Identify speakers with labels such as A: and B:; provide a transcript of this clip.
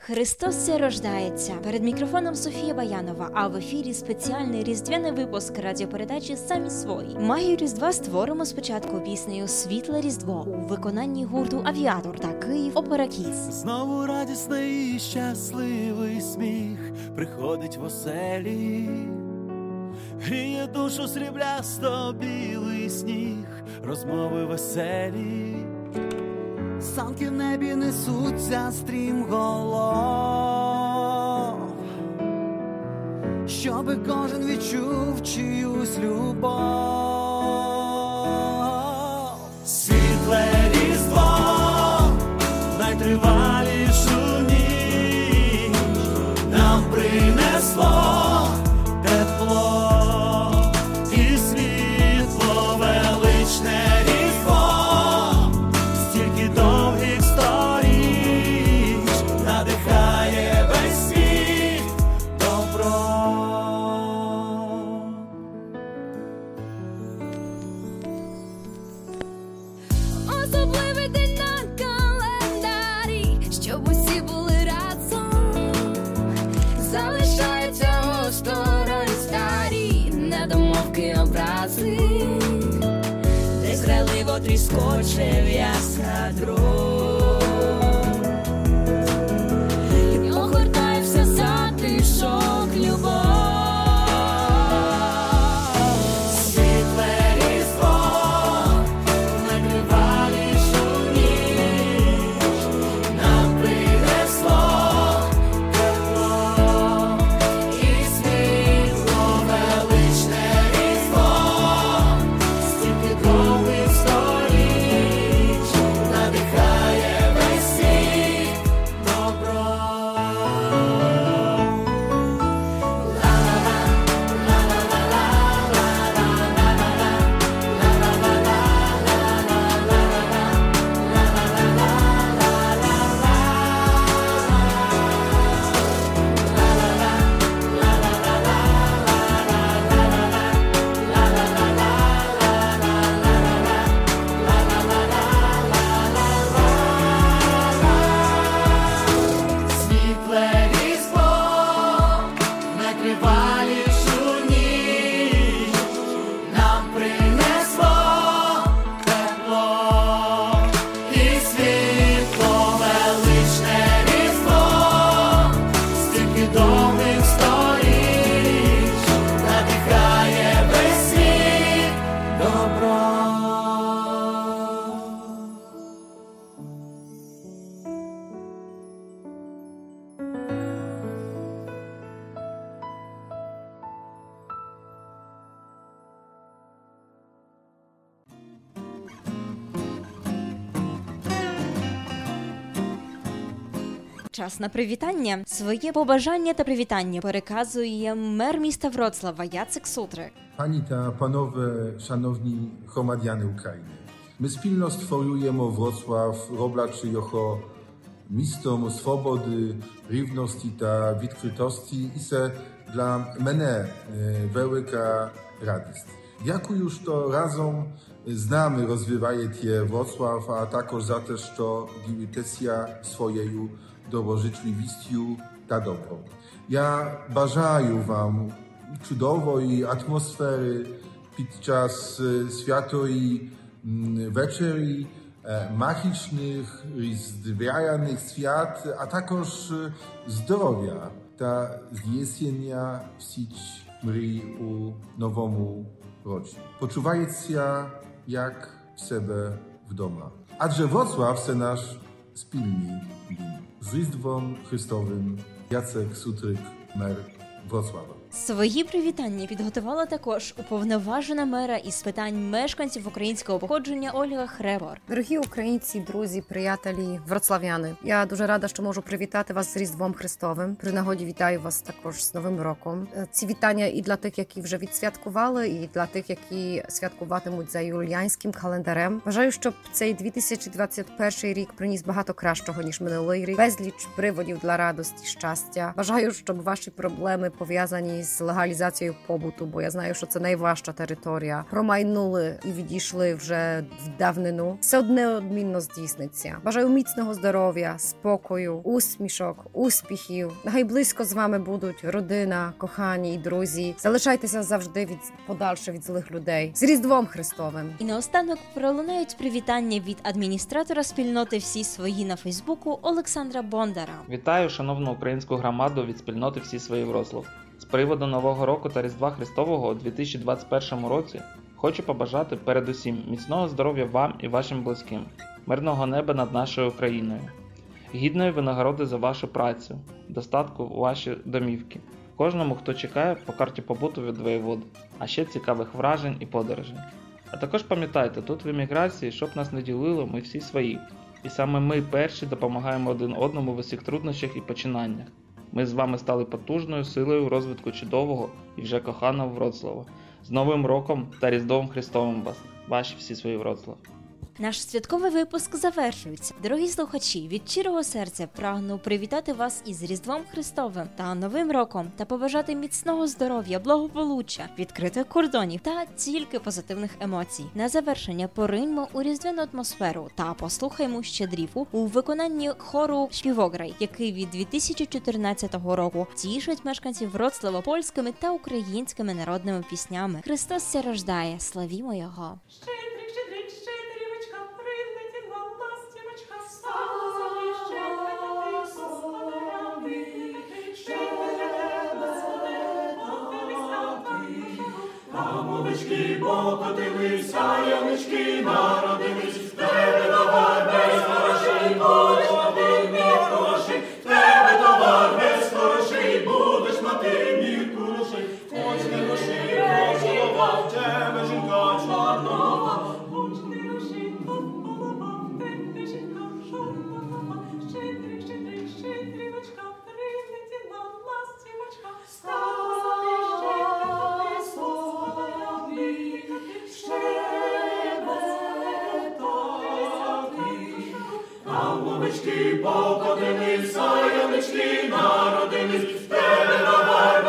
A: Христос рождається. Перед мікрофоном Софія Баянова, а в ефірі спеціальний різдвяний випуск радіопередачі «Самі свої». Магію Різдва створимо спочатку піснею «Світле Різдво» у виконанні гурту «Авіатор» та «Київ Опера Кідс».
B: Знову радісний і щасливий сміх приходить в оселі, гріє душу сріблясто білий сніг, розмови веселі. Санки в небі несуться стрімголов, щоби кожен відчув чиюсь любов. Світле Різдво, найтривалішу ніч нам принесло тепло і світло, величне Різдво, стільки довгих сторіч надихає весь світ добро.
C: Особливий день на календарі, щоб усі були разом. Залишаються осторонь старі недомовки, образи, десь грайливо тріскоче в'язка дров. І огортає все затишок любов.
B: Світле Різдво, найтривалішу ніч нам принесло тепло і світло, величне Різдво, стільки довгих сторіч надихає весь світ добро. Світле Різдво, найтривалішу ніч нам принесло тепло і світло, величне Різдво, стільки довгих сторіч надихає весь світ добро.
A: Час на привітання. Своє побажання та привітання переказує мер міста Вроцлава Jacek Sutrek.
D: Panie ta panowie, szanowni gromadiany Ukrainy. My spilno stworujemy Wrocław, roblaczy jako mistom swobody, równości ta відкритості i se dla mnie wielka radość. Jaku już to razem znamy rozwijає tie Wrocław, a також za te, що дивитеся своєю доброжитливістю та добром. Я бажаю вам чудової атмосфери під час святої вечері, магічних різдвяних свят, а також здоров'я та здійснення всіх мрій у новому році. Почувається як в себе вдома. Адже Wrocław це наш спільний дім. З Різдвом Христовим, Jacek Sutrek, мер Wrocława.
A: Свої привітання підготувала також уповноважена мера із питань мешканців українського походження Ольга Хребор.
E: Дорогі українці, друзі, приятелі, вроцлав'яни. Я дуже рада, що можу привітати вас з Різдвом Христовим. При нагоді вітаю вас також з Новим роком. Ці вітання і для тих, які вже відсвяткували, і для тих, які святкуватимуть за юліанським календарем. Бажаю, щоб цей 2021 рік приніс багато кращого, ніж минулий рік. Безліч приводів для радості, щастя. Бажаю, щоб ваші проблеми пов'язані пов'язані з легалізацією побуту, бо я знаю, що це найважча територія, промайнули і відійшли вже в давнину, все неодмінно здійсниться. Бажаю міцного здоров'я, спокою, усмішок, успіхів. Нехай близько з вами будуть родина, кохані і друзі. Залишайтеся завжди подальше від злих людей. З Різдвом Христовим!
A: І наостанок пролунають привітання від адміністратора спільноти «Всі свої» на Фейсбуку Олександра Бондара.
F: Вітаю шановну українську громаду від спільноти «Всі свої» Вроцлав. З приводу Нового року та Різдва Христового у 2021 році хочу побажати передусім міцного здоров'я вам і вашим близьким, мирного неба над нашою Україною, гідної винагороди за вашу працю, достатку у ваші домівки, кожному, хто чекає по карті побуту від воєводи, а ще цікавих вражень і подорожей. А також пам'ятайте, тут в еміграції, щоб нас не ділило, ми всі свої. І саме ми перші допомагаємо один одному в усіх труднощах і починаннях. Ми з вами стали потужною силою розвитку чудового і вже коханого Вроцлава. З Новим роком та Різдвом Христовим вас, ваші всі свої Вроцлав.
A: Наш святковий випуск завершується. Дорогі слухачі, від щирого серця прагну привітати вас із Різдвом Христовим та Новим роком та побажати міцного здоров'я, благополуччя, відкритих кордонів та тільки позитивних емоцій. На завершення пориньмо у різдвяну атмосферу та послухаймо щедрівку у виконанні хору «Шпівограй», який від 2014 року тішить мешканців Вроцлава польськими та українськими народними піснями. Христос ся рождає, славімо Його!
C: Ямочки покотилися, ямочки народились, в тебе товар без грошей, будеш мати мір грошей, в тебе товар без грошей, будеш мати мір грошей, хоч не грошей, голова, в тебе жінка чорнова, хоч не грошей, голова, в тебе жінка чорнова, щедрик, щедрик, щедрівочка, прилетіла ластівочка, Ямочки покотилися, ямочки народились, в тебе товар